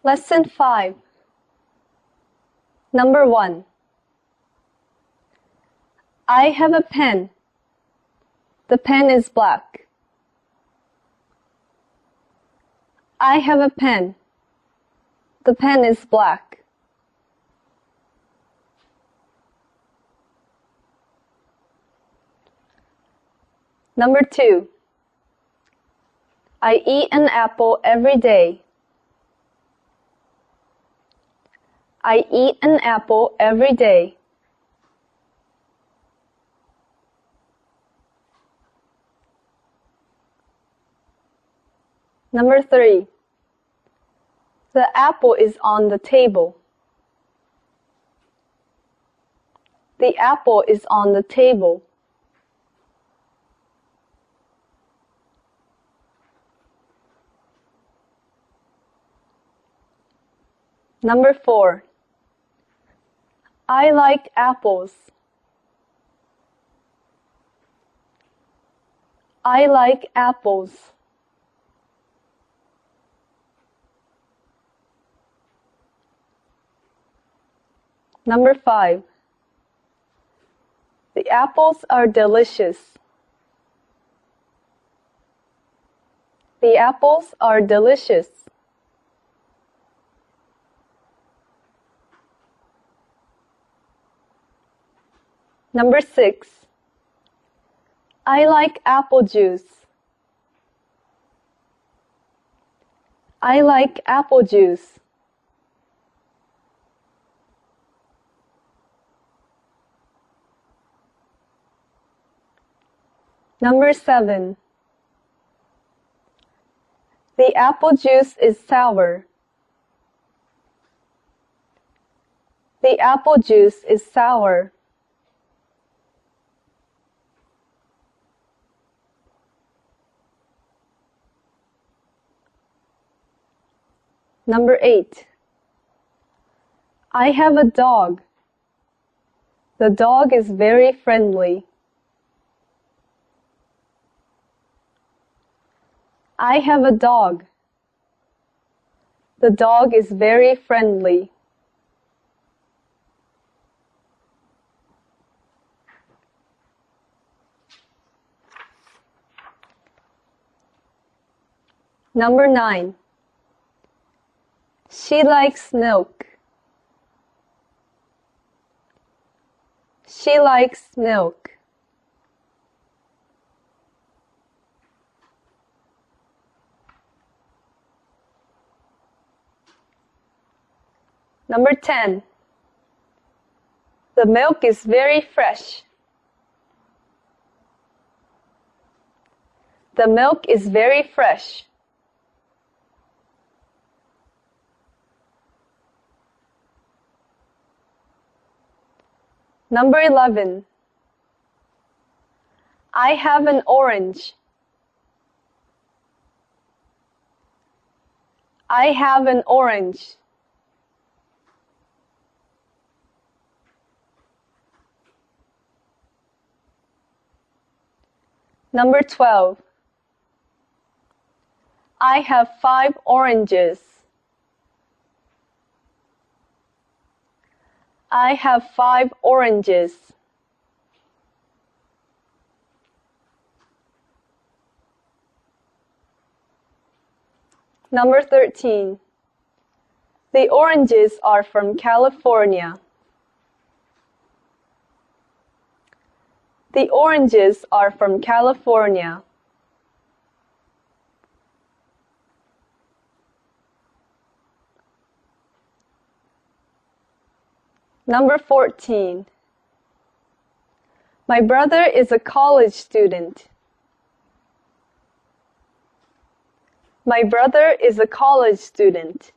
Lesson 5. Number 1. I have a pen. The pen is black. I have a pen. The pen is black. Number 2. I eat an apple every day. I eat an apple every day. Number 3. The apple is on the table. The apple is on the table. Number 4. I like apples. I like apples. Number 5. The apples are delicious. The apples are delicious. Number 6. I like apple juice. I like apple juice. Number 7. The apple juice is sour. The apple juice is sour. Number 8. I have a dog. The dog is very friendly. I have a dog. The dog is very friendly. Number 9. She likes milk. She likes milk. Number 10. The milk is very fresh. The milk is very fresh. Number 11. I have an orange. I have an orange. Number 12. I have 5 oranges. I have 5 oranges. Number 13. The oranges are from California. The oranges are from California. Number 14. My brother is a college student. My brother is a college student.